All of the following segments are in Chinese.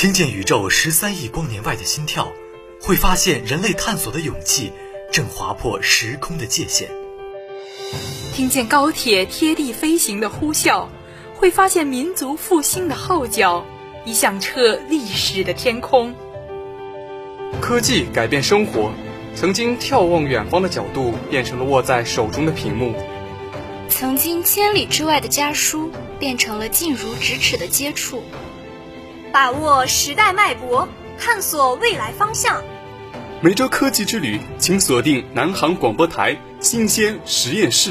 听见宇宙13亿光年外的心跳，会发现人类探索的勇气正划破时空的界限。 听见高铁贴地飞行的呼啸，会发现民族复兴的号角已响彻历史的天空。 科技改变生活，曾经眺望远方的角度变成了握在手中的屏幕， 曾经千里之外的家书变成了近如咫尺的接触。 把握时代脉搏，探索未来方向。 每周科技之旅，请锁定南航广播台新鲜实验室。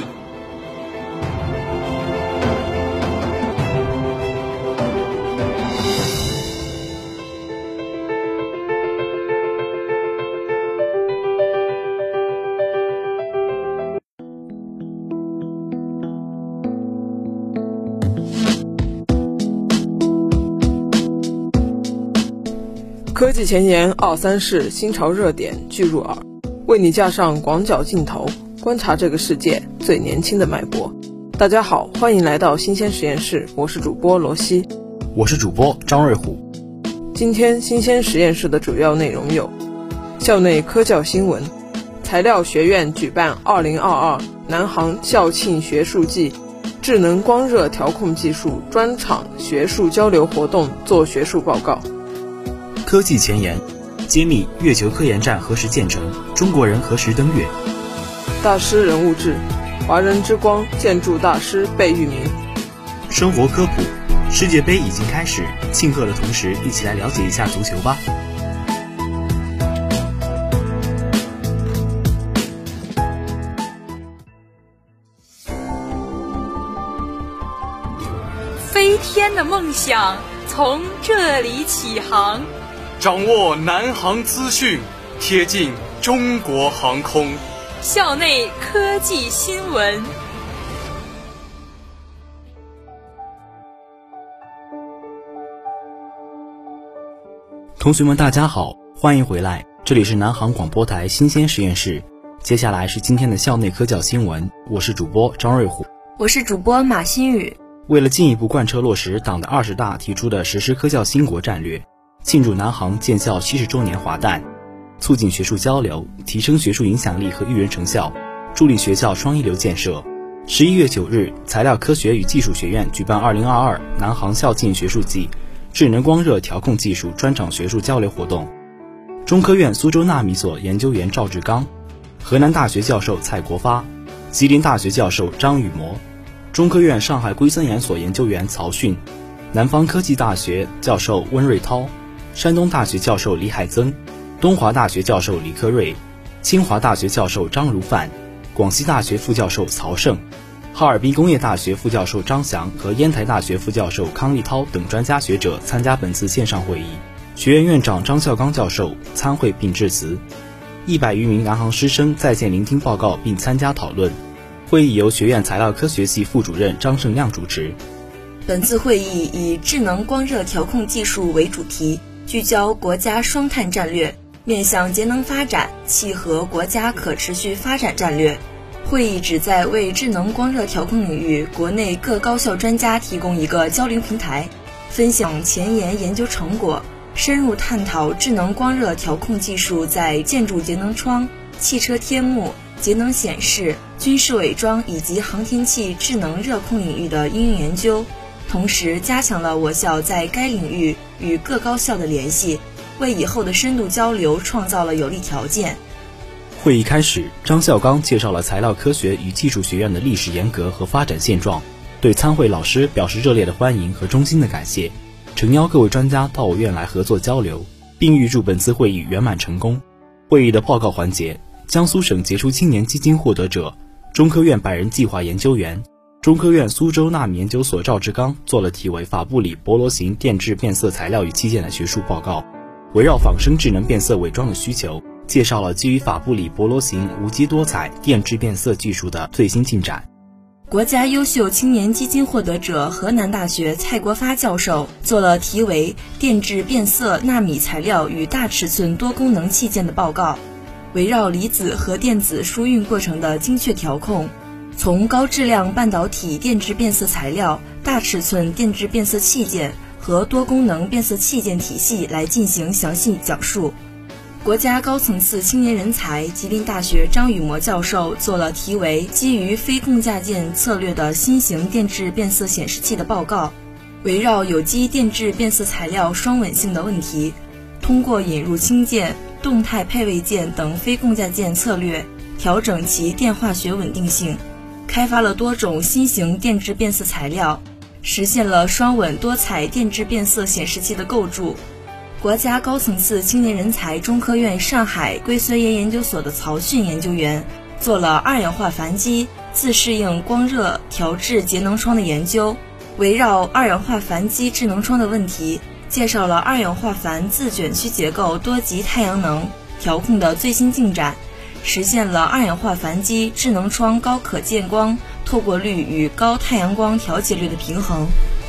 科技前沿2-3事，新潮热点聚入耳，为你架上广角镜头，观察这个世界最年轻的脉搏。大家好，欢迎来到新鲜实验室，我是主播罗西， 我是主播张瑞虎。 今天新鲜实验室的主要内容有：校内科教新闻，材料学院举办2022南航校庆学术季智能光热调控技术专场学术交流活动做学术报告。 科技前沿，揭秘月球科研站何时建成，中国人何时登月。 大师人物志，华人之光建筑大师贝聿铭。 生活科普，世界杯已经开始，庆贺的同时一起来了解一下足球吧。 飞天的梦想从这里起航， 掌握南航资讯，贴近中国航空。 校内科技新闻。 同学们大家好，欢迎回来，这里是南航广播台新鲜实验室。接下来是今天的校内科教新闻，我是主播张瑞虎， 我是主播马新宇。 为了进一步贯彻落实党的20大提出的实施科教兴国战略，庆祝南航建校70周年华诞，促进学术交流，提升学术影响力和育人成效，助力学校双一流建设。11月9日，材料科学与技术学院举办2022南航校庆学术季智能光热调控技术专场学术交流活动。中科院苏州纳米所研究员赵志刚，河南大学教授蔡国发，吉林大学教授张宇模，中科院上海硅酸盐所研究员曹迅，南方科技大学教授温瑞涛，山东大学教授李海增，东华大学教授李克瑞，清华大学教授张如范，广西大学副教授曹胜，哈尔滨工业大学副教授张翔和烟台大学副教授康立涛等专家学者参加本次线上会议。学院院长张孝刚教授参会并致辞，100余名南航师生在线聆听报告并参加讨论。会议由学院材料科学系副主任张胜亮主持。 本次会议以智能光热调控技术为主题，聚焦国家双碳战略，面向节能发展，契合国家可持续发展战略。会议旨在为智能光热调控领域国内各高校专家提供一个交流平台，分享前沿研究成果，深入探讨智能光热调控技术在建筑节能窗、汽车贴幕、节能显示、军事伪装以及航天器智能热控领域的应用研究，同时加强了我校在该领域与各高校的联系，为以后的深度交流创造了有利条件。 会议开始，张孝刚介绍了材料科学与技术学院的历史沿革和发展现状，对参会老师表示热烈的欢迎和衷心的感谢，诚邀各位专家到我院来合作交流，并预祝本次会议圆满成功。会议的报告环节，江苏省杰出青年基金获得者、中科院百人计划研究员、中科院苏州纳米研究所赵志刚做了题为法布里博罗型电致变色材料与器件的学术报告，围绕仿生智能变色伪装的需求，介绍了基于法布里博罗型无机多彩电致变色技术的最新进展。 国家优秀青年基金获得者河南大学蔡国发教授做了题为电致变色纳米材料与大尺寸多功能器件的报告，围绕离子和电子输运过程的精确调控，从高质量半导体电致变色材料、大尺寸电致变色器件和多功能变色器件体系来进行详细讲述。国家高层次青年人才吉林大学张雨模教授做了题为基于非共价件策略的新型电致变色显示器的报告，围绕有机电致变色材料双稳性的问题，通过引入氢键、动态配位键等非共价件策略，调整其电化学稳定性，开发了多种新型电致变色材料，实现了双稳多彩电致变色显示器的构筑。国家高层次青年人才中科院上海硅酸盐研究所的曹迅研究员做了二氧化钒基自适应光热调制节能窗的研究，围绕二氧化钒基智能窗的问题，介绍了二氧化钒自卷曲结构多级太阳能调控的最新进展，实现了二氧化钒基智能窗高可见光透过率与高太阳光调节率的平衡。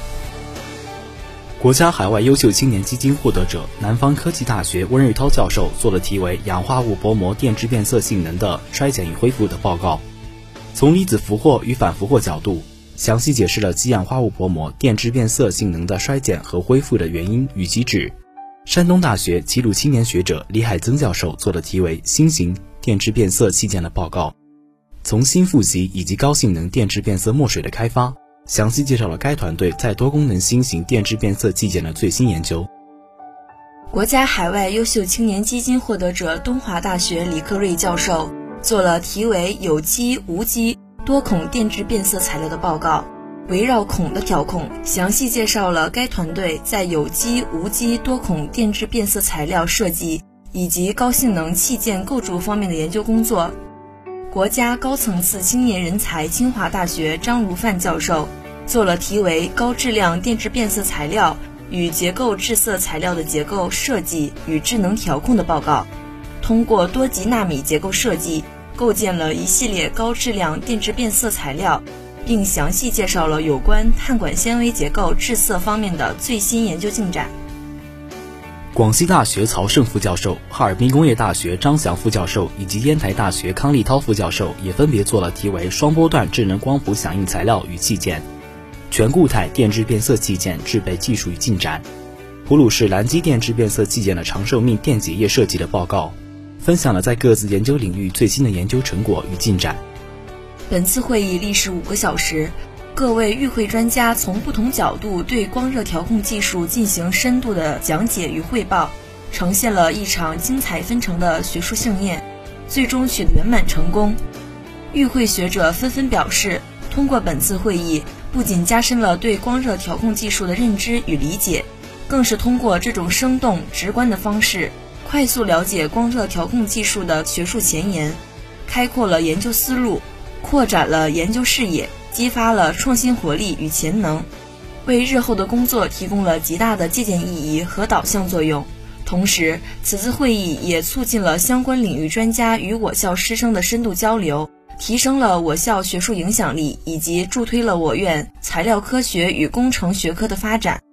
国家海外优秀青年基金获得者南方科技大学温瑞涛教授做了题为氧化物薄膜电致变色性能的衰减与恢复的报告，从离子俘获与反俘获角度，详细解释了极氧化物薄膜电致变色性能的衰减和恢复的原因与机制。山东大学齐鲁青年学者李海增教授做了题为新型电致变色器件的报告，从新负极以及高性能电致变色墨水的开发，详细介绍了该团队在多功能新型电致变色器件的最新研究。 国家海外优秀青年基金获得者东华大学李克瑞教授做了题为有机无机多孔电致变色材料的报告，围绕孔的调控，详细介绍了该团队在有机无机多孔电致变色材料设计以及高性能器件构筑方面的研究工作。国家高层次青年人才清华大学张如范教授做了题为高质量电致变色材料与结构致色材料的结构设计与智能调控的报告，通过多级纳米结构设计构建了一系列高质量电致变色材料，并详细介绍了有关碳管纤维结构致色方面的最新研究进展。 广西大学曹胜副教授、哈尔滨工业大学张翔副教授以及烟台大学康立涛副教授也分别做了题为双波段智能光谱响应材料与器件、全固态电致变色器件制备技术与进展、普鲁士蓝基电致变色器件的长寿命电解液设计的报告，分享了在各自研究领域最新的研究成果与进展。 本次会议历时5个小时，各位与会专家从不同角度对光热调控技术进行深度的讲解与汇报，呈现了一场精彩纷呈的学术盛宴，最终取得圆满成功。与会学者纷纷表示，通过本次会议，不仅加深了对光热调控技术的认知与理解，更是通过这种生动直观的方式，快速了解光热调控技术的学术前沿，开阔了研究思路，扩展了研究视野，激发了创新活力与潜能，为日后的工作提供了极大的借鉴意义和导向作用。同时，此次会议也促进了相关领域专家与我校师生的深度交流，提升了我校学术影响力，以及助推了我院材料科学与工程学科的发展。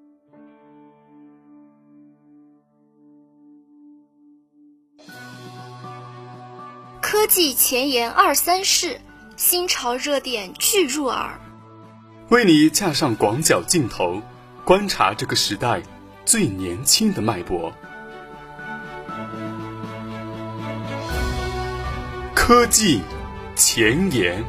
科技前沿23世，新潮热点俱入耳， 为你架上广角镜头，观察这个时代最年轻的脉搏。科技前沿。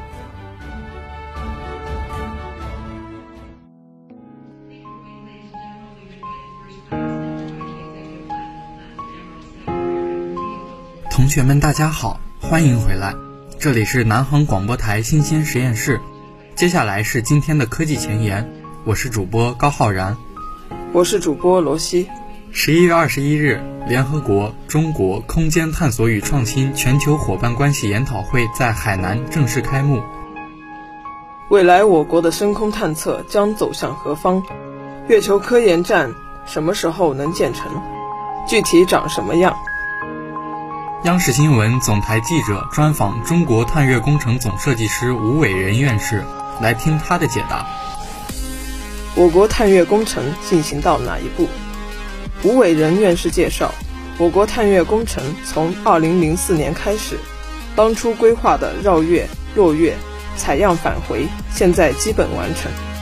同学们大家好，欢迎回来，这里是南航广播台新鲜实验室，接下来是今天的科技前沿，我是主播高浩然， 我是主播罗西。 11月21日，联合国中国空间探索与创新全球伙伴关系研讨会在海南正式开幕。 未来我国的深空探测将走向何方？月球科研站什么时候能建成？具体长什么样？ 央视新闻总台记者专访中国探月工程总设计师吴伟仁院士，来听他的解答。 我国探月工程进行到哪一步？吴伟仁院士介绍，我国探月工程从2004年开始，当初规划的绕月、落月、采样返回现在基本完成，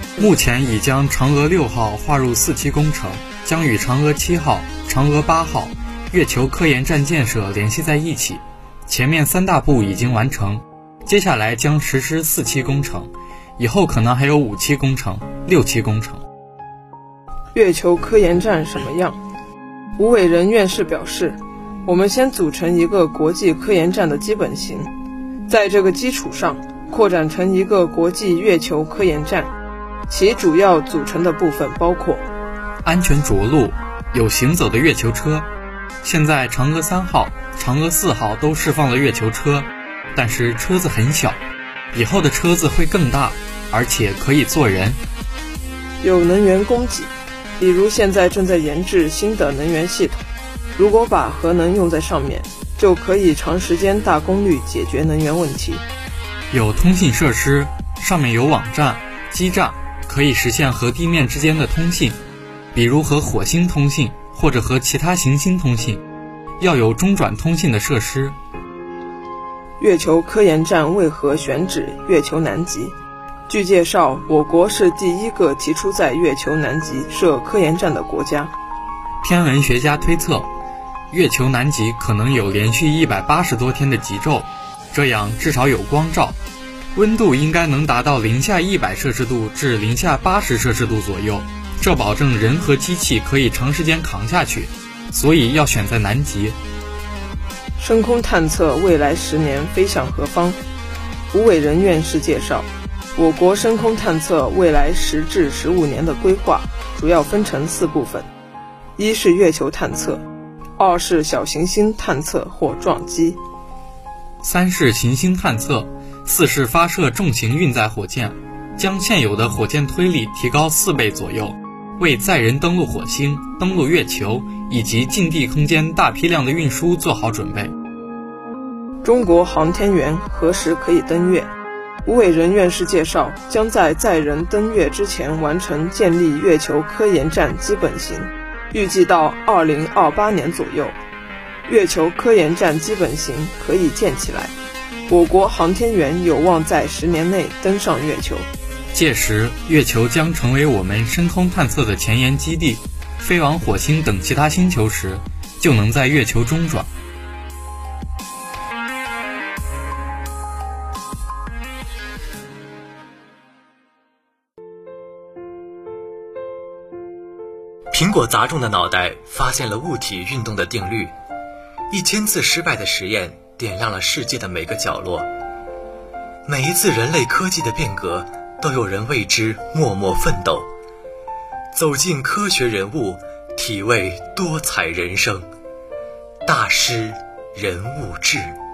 目前已将嫦娥6号划入4期工程，将与嫦娥7号、嫦娥8号月球科研站建设联系在一起。前面3大步已经完成，接下来将实施4期工程，以后可能还有5期工程、6期工程。 月球科研站什么样？吴伟仁院士表示，我们先组成一个国际科研站的基本型，在这个基础上扩展成一个国际月球科研站，其主要组成的部分包括安全着陆，有行走的月球车。现在嫦娥3号、嫦娥4号都释放了月球车，但是车子很小，以后的车子会更大，而且可以坐人。 有能源供给，比如现在正在研制新的能源系统，如果把核能用在上面，就可以长时间大功率解决能源问题。 有通信设施，上面有网站、基站，可以实现和地面之间的通信，比如和火星通信，或者和其他行星通信。要有中转通信的设施。 月球科研站为何选址月球南极？据介绍，我国是第一个提出在月球南极设科研站的国家。 天文学家推测，月球南极可能有连续180多天的极昼，这样至少有光照，温度应该能达到零下100摄氏度至零下80摄氏度左右，这保证人和机器可以长时间扛下去，所以要选在南极。 深空探测未来10年飞向何方？吴伟仁院士介绍，我国深空探测未来10至15年的规划主要分成4部分：一是月球探测，2是小行星探测或撞击 ，3是行星探测，4是发射重型运载火箭，将现有的火箭推力提高4倍左右，为载人登陆火星、登陆月球以及近地空间大批量的运输做好准备。 中国航天员何时可以登月？吴伟仁院士介绍，将在载人登月之前完成建立月球科研站基本型，预计到2028年左右，月球科研站基本型可以建起来，我国航天员有望在10年内登上月球。 届时，月球将成为我们深空探测的前沿基地，飞往火星等其他星球时，就能在月球中转。 苹果砸中的脑袋发现了物体运动的定律，1000次失败的实验点亮了世界的每个角落。每一次人类科技的变革，都有人为之默默奋斗。走进科学人物，体味多彩人生。大师人物志。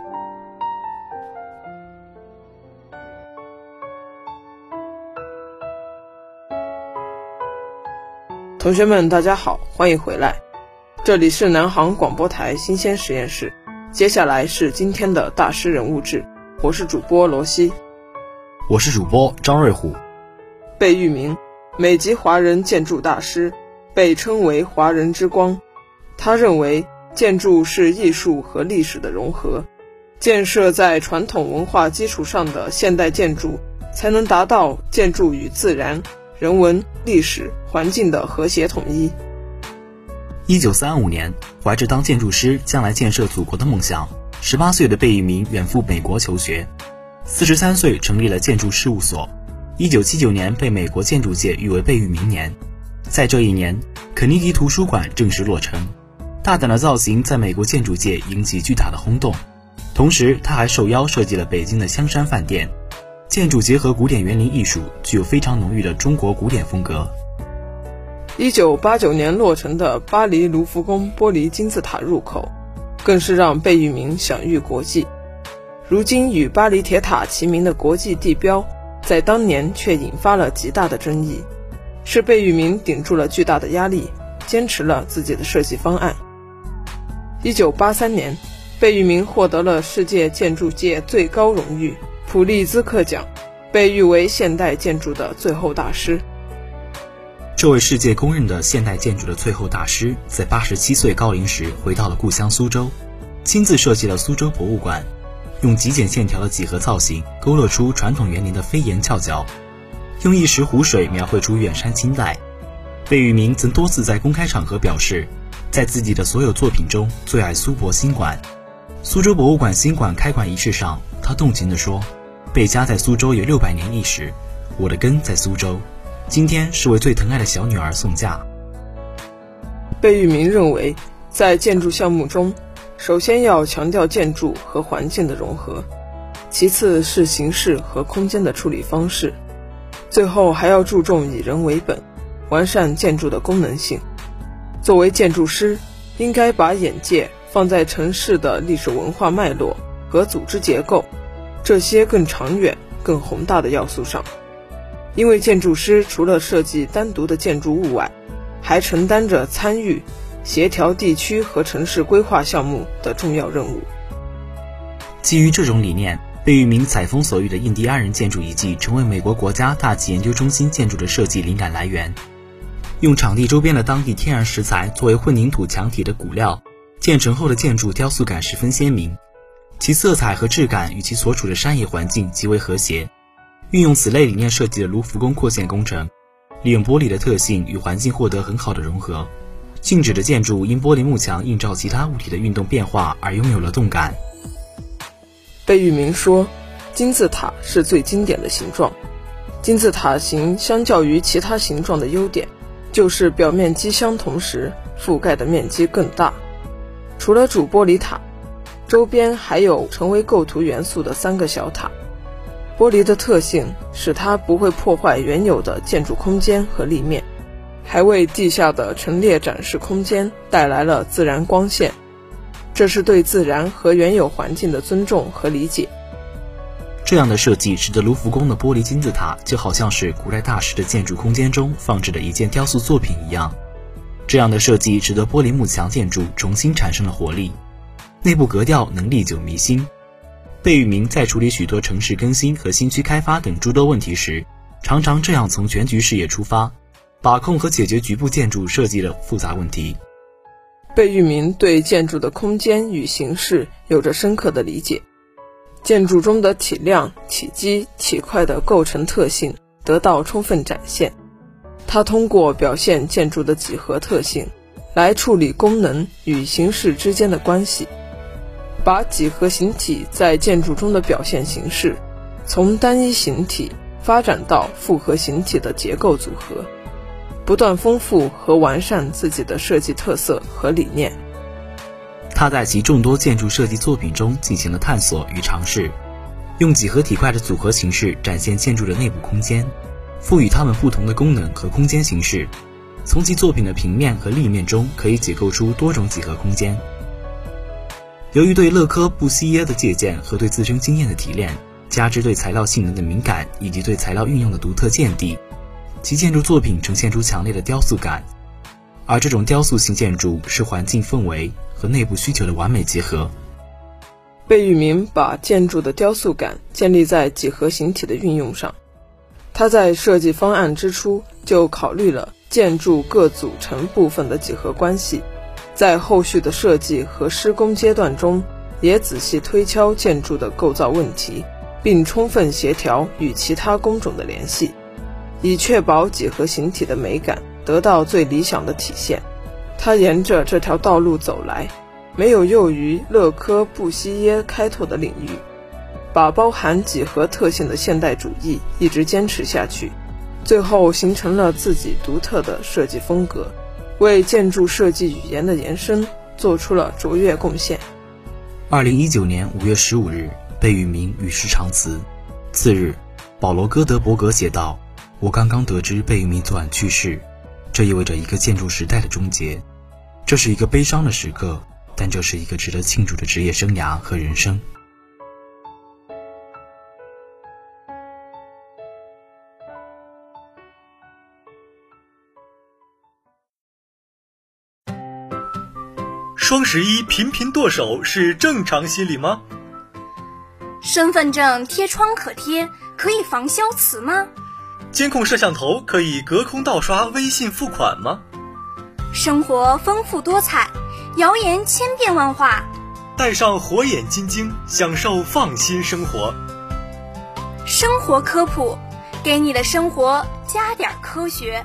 同学们大家好，欢迎回来，这里是南航广播台新鲜实验室，接下来是今天的大师人物志，我是主播罗西， 我是主播张瑞虎。 贝聿铭，美籍华人建筑大师，被称为华人之光。他认为建筑是艺术和历史的融合，建设在传统文化基础上的现代建筑，才能达到建筑与自然、人文、历史、环境的和谐统一。 1935年，怀着当建筑师将来建设祖国的梦想，18岁的贝聿铭远赴美国求学，43岁成立了建筑事务所。1979年被美国建筑界誉为贝聿铭年。在这一年，肯尼迪图书馆正式落成，大胆的造型在美国建筑界引起巨大的轰动。同时，他还受邀设计了北京的香山饭店，建筑结合古典园林艺术，具有非常浓郁的中国古典风格。 1989年落成的巴黎卢浮宫玻璃金字塔入口，更是让贝聿铭享誉国际。如今与巴黎铁塔齐名的国际地标，在当年却引发了极大的争议，是贝聿铭顶住了巨大的压力，坚持了自己的设计方案。1983年，贝聿铭获得了世界建筑界最高荣誉普利兹克奖，被誉为现代建筑的最后大师。 这位世界公认的现代建筑的最后大师，在87岁高龄时回到了故乡苏州，亲自设计了苏州博物馆，用极简线条的几何造型勾勒出传统园林的飞檐翘角， 用一石湖水描绘出远山清代。贝聿铭曾多次在公开场合表示，在自己的所有作品中最爱苏博新馆。苏州博物馆新馆开馆仪式上，他动情地说，贝家在苏州有600年历史，我的根在苏州，今天是为最疼爱的小女儿送嫁。 贝聿铭认为，在建筑项目中，首先要强调建筑和环境的融合，其次是形式和空间的处理方式，最后还要注重以人为本，完善建筑的功能性。作为建筑师，应该把眼界放在城市的历史文化脉络和组织结构这些更长远、更宏大的要素上。因为建筑师除了设计单独的建筑物外，还承担着参与、协调地区和城市规划项目的重要任务。 基于这种理念，贝聿铭采风所遇的印第安人建筑遗迹成为美国国家大气研究中心建筑的设计灵感来源。用场地周边的当地天然石材作为混凝土墙体的骨料，建成后的建筑雕塑感十分鲜明，其色彩和质感与其所处的山野环境极为和谐。运用此类理念设计的卢浮宫扩建工程，利用玻璃的特性与环境获得很好的融合，静止的建筑因玻璃幕墙映照其他物体的运动变化而拥有了动感。 贝聿铭说，金字塔是最经典的形状。金字塔形相较于其他形状的优点，就是表面积相同时覆盖的面积更大。除了主玻璃塔，周边还有成为构图元素的3个小塔。玻璃的特性使它不会破坏原有的建筑空间和立面，还为地下的陈列展示空间带来了自然光线，这是对自然和原有环境的尊重和理解。 这样的设计使得卢浮宫的玻璃金字塔就好像是古代大师的建筑空间中放置的一件雕塑作品一样。这样的设计使得玻璃幕墙建筑重新产生了活力，内部格调能历久弥新。贝聿铭在处理许多城市更新和新区开发等诸多问题时，常常这样从全局视野出发，把控和解决局部建筑设计的复杂问题。 贝聿铭对建筑的空间与形式有着深刻的理解，建筑中的体量、体积、体块的构成特性得到充分展现。他通过表现建筑的几何特性，来处理功能与形式之间的关系，把几何形体在建筑中的表现形式，从单一形体发展到复合形体的结构组合，不断丰富和完善自己的设计特色和理念。 他在其众多建筑设计作品中进行了探索与尝试，用几何体块的组合形式展现建筑的内部空间，赋予它们不同的功能和空间形式。从其作品的平面和立面中可以解构出多种几何空间。由于对勒柯布西耶的借鉴和对自身经验的提炼，加之对材料性能的敏感以及对材料运用的独特见地，其建筑作品呈现出强烈的雕塑感。而这种雕塑性建筑是环境氛围和内部需求的完美结合。 贝聿铭把建筑的雕塑感建立在几何形体的运用上。他在设计方案之初就考虑了建筑各组成部分的几何关系，在后续的设计和施工阶段中，也仔细推敲建筑的构造问题，并充分协调与其他工种的联系，以确保几何形体的美感得到最理想的体现。他沿着这条道路走来，没有囿于勒柯布西耶开拓的领域，把包含几何特性的现代主义一直坚持下去，最后形成了自己独特的设计风格，为建筑设计语言的延伸做出了卓越贡献。 2019年5月15日，贝聿铭与世长辞。次日，保罗·戈德伯格写道：“我刚刚得知贝聿铭昨晚去世，这意味着一个建筑时代的终结。这是一个悲伤的时刻，但这是一个值得庆祝的职业生涯和人生。” 双11频频剁手是正常心理吗？ 身份证贴窗可贴，可以防消磁吗？ 监控摄像头可以隔空盗刷微信付款吗？ 生活丰富多彩，谣言千变万化。 戴上火眼金睛，享受放心生活。 生活科普， 给你的生活加点科学。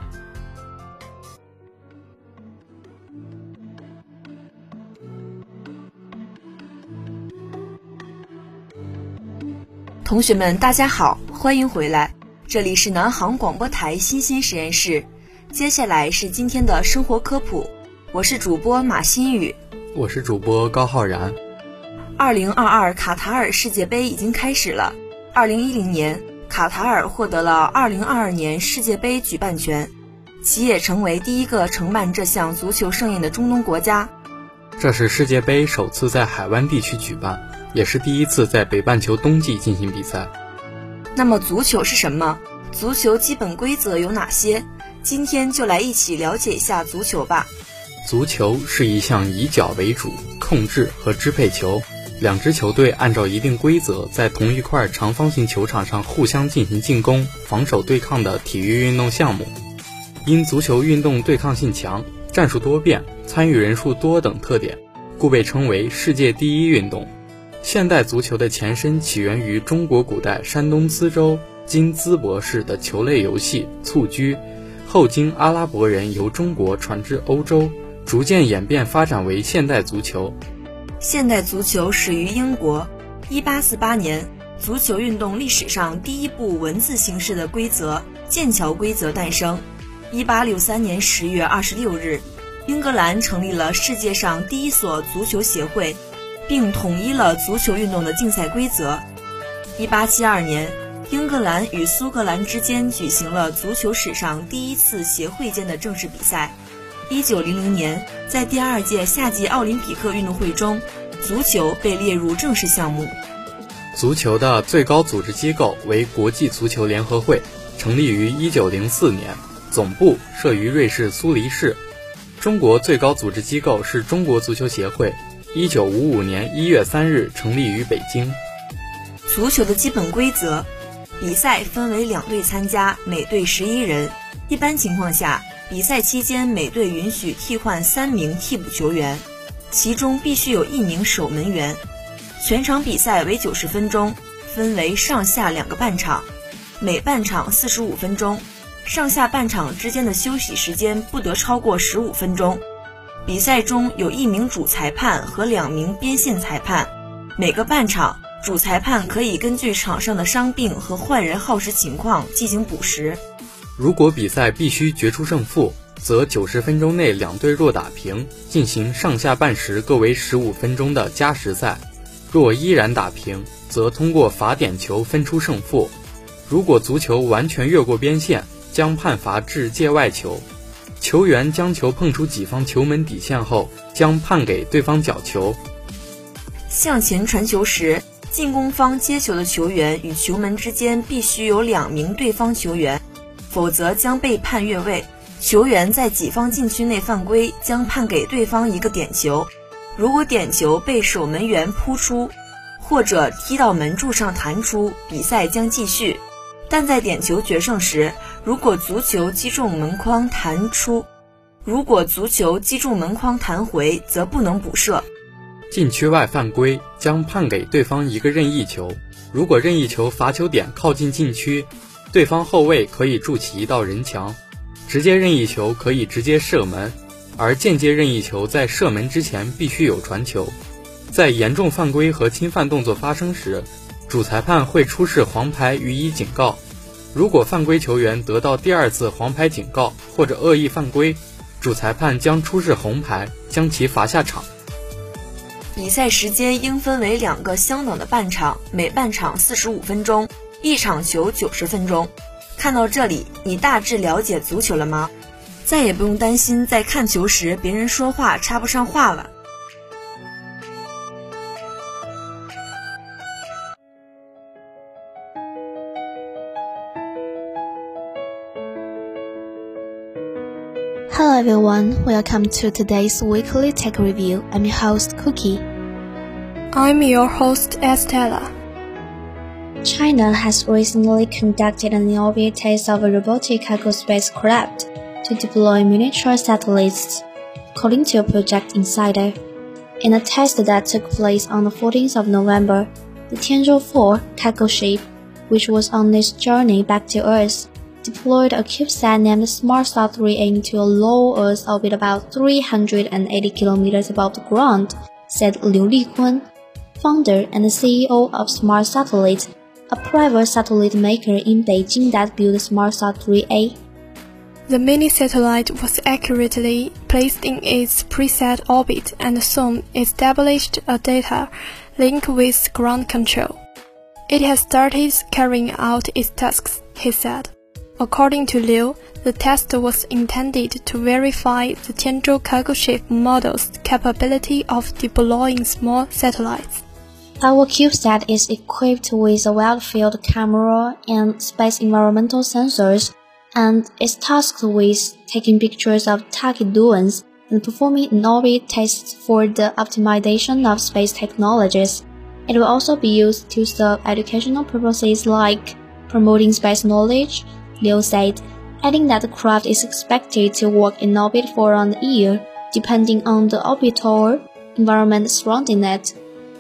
同学们，大家好，欢迎回来，这里是南航广播台新鲜实验室。接下来是今天的生活科普，我是主播马新宇， 我是主播高浩然。 2022卡塔尔世界杯已经开始了。2010年，卡塔尔获得了2022年世界杯举办权，其也成为第一个承办这项足球盛宴的中东国家。 这是世界杯首次在海湾地区举办，也是第一次在北半球冬季进行比赛。 那么足球是什么？足球基本规则有哪些？今天就来一起了解一下足球吧。 足球是一项以脚为主，控制和支配球，两支球队按照一定规则在同一块长方形球场上互相进行进攻、防守对抗的体育运动项目。因足球运动对抗性强、战术多变、参与人数多等特点，故被称为世界第一运动。现代足球的前身起源于中国古代山东淄州今淄博市的球类游戏蹴鞠，后经阿拉伯人由中国传至欧洲，逐渐演变发展为现代足球。 现代足球始于英国，1848年，足球运动历史上第一部文字形式的规则剑桥规则诞生。1863年10月26日，英格兰成立了世界上第一所足球协会，并统一了足球运动的竞赛规则。1872年，英格兰与苏格兰之间举行了足球史上第一次协会间的正式比赛。1900年，在第2届夏季奥林匹克运动会中，足球被列入正式项目。 足球的最高组织机构为国际足球联合会，成立于1904年，总部设于瑞士苏黎世。中国最高组织机构是中国足球协会，1955年1月3日成立于北京。 足球的基本规则，比赛分为2队参加，每队11人。一般情况下，比赛期间每队允许替换3名替补球员，其中必须有1名守门员。全场比赛为90分钟，分为上下2个半场，每半场45分钟，上下半场之间的休息时间不得超过15分钟。比赛中有1名主裁判和2名边线裁判。每个半场，主裁判可以根据场上的伤病和换人耗时情况进行补时。 如果比赛必须决出胜负，则90分钟内2队若打平，进行上下半时各为15分钟的加时赛。若依然打平，则通过罚点球分出胜负。如果足球完全越过边线，将判罚至界外球。球员将球碰出己方球门底线后，将判给对方角球。 向前传球时，进攻方接球的球员与球门之间必须有2名对方球员，否则将被判越位。球员在己方禁区内犯规，将判给对方1个点球。如果点球被守门员扑出，或者踢到门柱上弹出，比赛将继续。但在点球决胜时，如果足球击中门框弹回，则不能补射。 禁区外犯规将判给对方1个任意球，如果任意球罚球点靠近禁区，对方后卫可以筑起1道人墙。直接任意球可以直接射门，而间接任意球在射门之前必须有传球。在严重犯规和侵犯动作发生时，主裁判会出示黄牌予以警告。如果犯规球员得到第2次黄牌警告或者恶意犯规，主裁判将出示红牌，将其罚下场。 比赛时间应分为2个相等的半场，每半场45分钟，一场球90分钟。看到这里，你大致了解足球了吗？再也不用担心在看球时别人说话插不上话了。 Hello everyone, welcome to today's weekly tech review. I'm your host Cookie. I'm your host Estella. China has recently conducted an inaugural test of a robotic cargo spacecraft to deploy miniature satellites, according to a Project Insider. In a test that took place on the 14th of November, the Tianzhou 4 cargo ship which was on its journey back to Earth, deployed a CubeSat named SmartSat 3A into a low Earth orbit about 380 kilometers above the ground, said Liu Liquan, founder and CEO of Smart Satellite, a private satellite maker in Beijing that built SmartSat 3A. The mini-satellite was accurately placed in its preset orbit and soon established a data link with ground control. It has started carrying out its tasks, he said. According to Liu, the test was intended to verify the Tianzhou cargo ship model's capability of deploying small satellites. Our CubeSat is equipped with a wide-field camera and space environmental sensors, and is tasked with taking pictures of target doings and performing in-orbit tests for the optimization of space technologies. It will also be used to serve educational purposes like promoting space knowledge, Liu said, adding that the craft is expected to work in orbit for around a year, depending on the orbital environment surrounding it.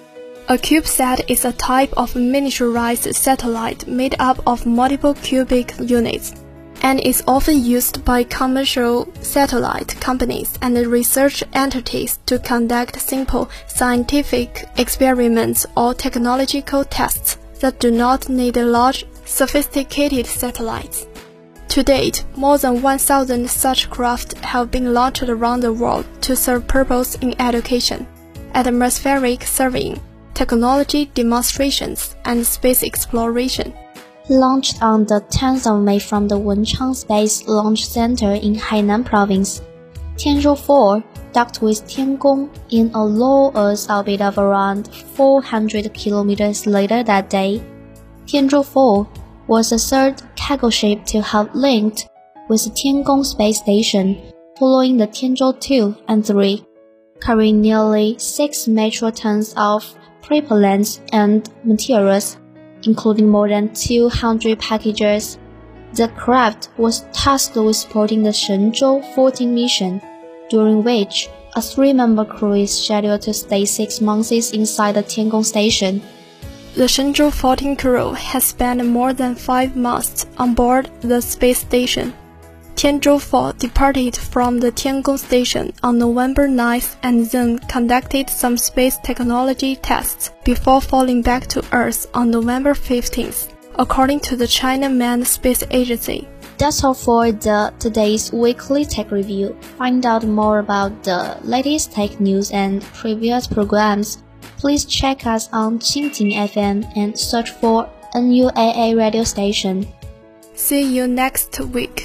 A CubeSat is a type of miniaturized satellite made up of multiple cubic units, and is often used by commercial satellite companies and research entities to conduct simple scientific experiments or technological tests that do not need large, sophisticated satellites. To date, more than 1,000 such craft have been launched around the world to serve purpose in education, atmospheric surveying, technology demonstrations, and space exploration. Launched on the 10th of May from the Wenchang Space Launch Center in Hainan Province, Tianzhou 4 docked with Tiangong in a low Earth orbit of around 400 kilometers later that day. Tianzhou 4 was the third cargo ship to have linked with the Tiangong space station, following the Tianzhou 2 and 3, carrying nearly 6 metric tons of propellants and materials, including more than 200 packages. The craft was tasked with supporting the Shenzhou 14 mission, during which a 3-member crew is scheduled to stay 6 months inside the Tiangong station. The Shenzhou 14 crew has spent more than 5 months on board the space station. Tianzhou 4 departed from the Tiangong station on November 9th and then conducted some space technology tests before falling back to Earth on November 15th, according to the China Manned Space Agency. That's all for today's weekly tech review. Find out more about the latest tech news and previous programs. Please check us on Qingting FM and search for NUAA radio station. See you next week.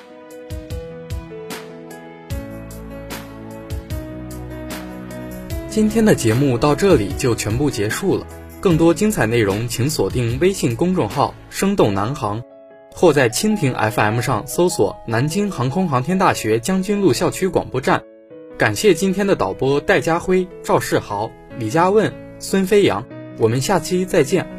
今天的节目到这里就全部结束了，更多精彩内容请锁定微信公众号生动南航，或在蜻蜓 FM 上搜索南京航空航天大学将军路校区广播站。感谢今天的导播戴家辉、赵世豪、李佳问、孙飞扬，我们下期再见。